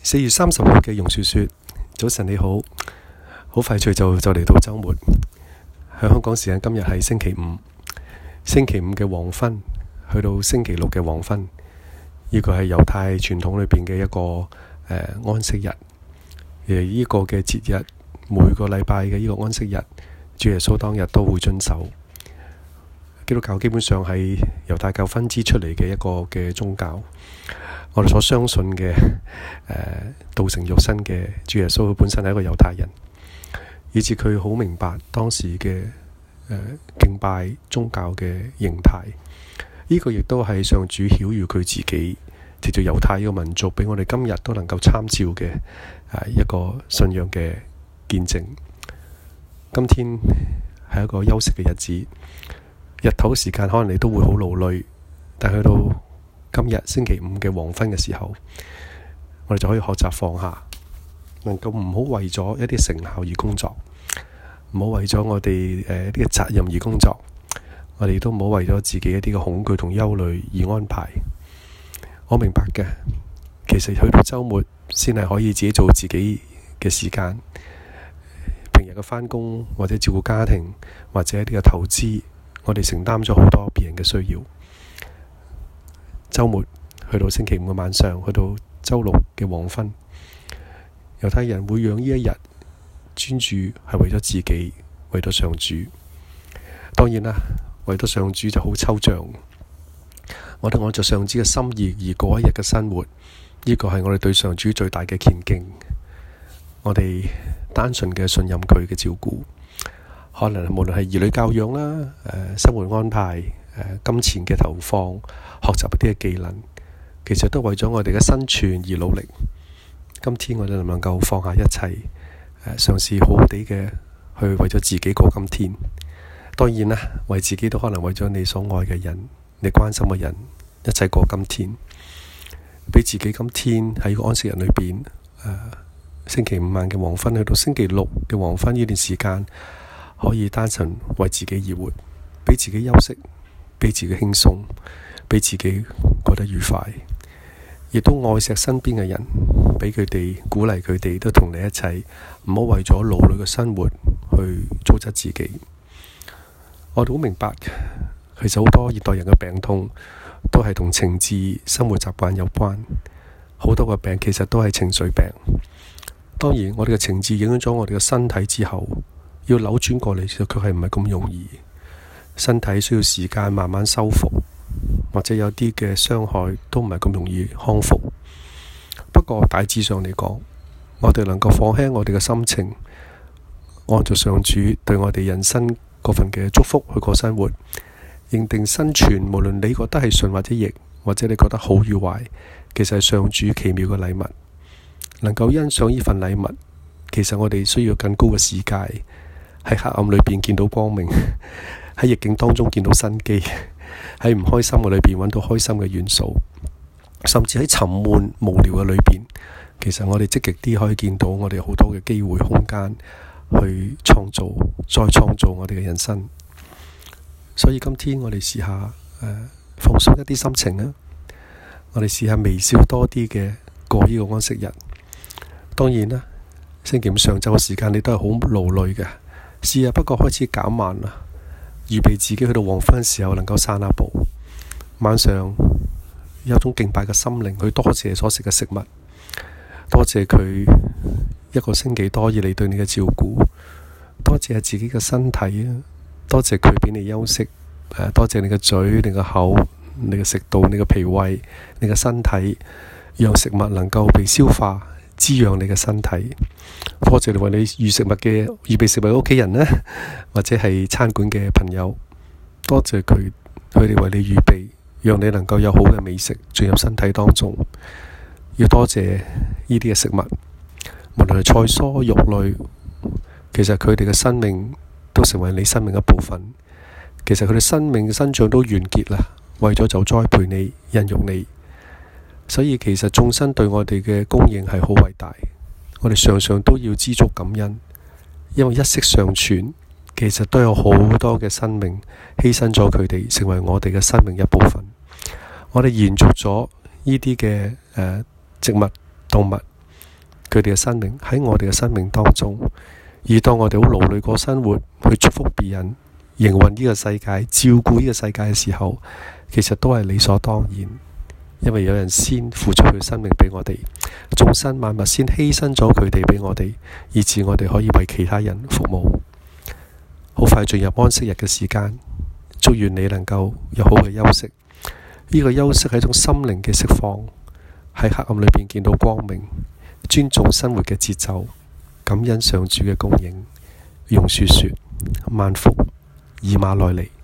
4月30號嘅榕樹說：早晨你好，好快脆就嚟到周末。喺香港時間今日係星期五，星期五嘅黃昏去到星期六嘅黃昏，呢個係猶太傳統裏邊嘅一個安息日。呢個嘅節日每個禮拜嘅呢個安息日，主耶穌當日都會遵守。基督教基本上係猶太教分支出嚟嘅一個嘅宗教。我哋所相信嘅道成肉身嘅主耶穌，佢本身係一個猶太人，以至佢好明白當時嘅敬拜宗教嘅形態。呢個亦都係上主曉諭佢自己，藉住猶太呢個民族，俾我哋今日都能夠參照嘅一個信仰嘅見證。今天係一個休息嘅日子，日頭時間可能你都會好勞累，但去到今日星期五嘅黃昏嘅時候，我哋就可以學習放下，能夠唔好為咗一啲成效而工作，唔好為咗我哋一啲嘅責任而工作，我哋都唔好為咗自己一啲嘅恐懼同憂慮而安排。我明白嘅，其實去到週末先係可以自己做自己嘅時間，平日嘅返工或者照顧家庭或者一啲嘅投資，我哋承擔咗好多別人嘅需要。週末去到星期五嘅晚上，去到週六嘅黃昏，猶太人會讓呢一日專注係為咗自己，為咗上主。當然啦，為咗上主就好抽象。我哋按照上主嘅心意而過一日嘅生活，呢個係我哋對上主最大嘅虔敬。我哋單純嘅信任佢嘅照顧，可能無論係兒女教養啦、生活安排、金錢嘅投放、學習一啲嘅技能，其實都為咗我哋嘅生存而努力。今天我哋能唔能夠放下一切，嘗試好好地嘅去為咗自己過今天？當然啦，為自己都可能為咗你所愛嘅人、你關心嘅人，一齊過今天，俾自己今天喺個安息日裏邊，星期五晚嘅黃昏去到星期六嘅黃昏呢段時間，可以單純為自己而活，俾自己休息，俾自己輕鬆，俾自己過得愉快，亦都愛錫身邊嘅人，俾佢哋鼓勵佢哋都同你一齊，唔好為咗勞累嘅生活去糟質自己。我哋好明白，其實好多現代人嘅病痛都係同情志、生活習慣有關。好多個病其實都係情緒病。當然，我哋嘅情志影響咗我哋嘅身體之後，要扭轉過嚟，其實佢係唔係咁容易。身體需要時間慢慢修復，或者有啲嘅傷害都唔係咁容易康復。不過大致上嚟講，我哋能夠放輕我哋嘅心情，按照上主對我哋人生嗰份嘅祝福去過生活，認定生存無論你覺得係順或者逆，或者你覺得好與壞，其實係上主奇妙嘅禮物。能夠欣賞呢份禮物，其實我哋需要更高嘅視界，喺黑暗裏邊見到光明，喺逆境當中見到生機，喺唔開心嘅裏邊揾到開心嘅元素，甚至喺沉悶無聊嘅裏邊，其實我哋積極啲可以見到我哋好多嘅機會空間去創造，再創造我哋嘅人生。所以今天我哋試下放鬆一啲心情啊！我哋試下微笑多啲嘅過呢個安息日。當然啦，星期五上晝嘅時間你都係好勞累嘅，試下不過開始減慢啦，預備自己去到黃昏嘅時候能夠散下步。晚上有一種敬拜嘅心靈去多謝所食嘅食物，多謝佢一個星期多以嚟對你嘅照顧，多謝自己嘅身體啊，多謝佢俾你休息，多謝你嘅嘴、你嘅口、你嘅食道、你嘅脾胃、你嘅身體，讓食物能夠被消化，滋養你嘅身體。多謝你為你預備食物嘅屋企人呢，或者係餐館嘅朋友，多謝佢哋為你預備，讓你能夠有好嘅美食進入身體當中。要多謝呢啲嘅食物，無論係菜蔬肉類，其實佢哋嘅生命都成為你生命一部分。其實佢哋生命嘅生長都完結啦，為咗就栽培你、孕育你。所以其實眾生對我哋嘅供應係好偉大，我哋常常都要知足感恩，因為一息尚存，其實都有好多嘅生命犧牲咗佢哋，成為我哋嘅生命一部分。我哋延續咗呢啲嘅植物、動物， 佢哋嘅生命喺我哋嘅生命當中。而當我哋好勞累過生活，去祝福別人、營運呢個世界、照顧呢個世界嘅時候，其實都係理所當然，因為有人先付出佢生命俾我哋，眾生萬物先犧牲咗佢哋俾我哋，以致我哋可以為其他人服務。好快進入安息日嘅時間，祝願你能夠有好嘅休息。呢個休息係一種心靈嘅釋放，喺黑暗裏邊見到光明，尊重生活嘅節奏，感恩上主嘅供應。榕樹說：萬福，以馬內利。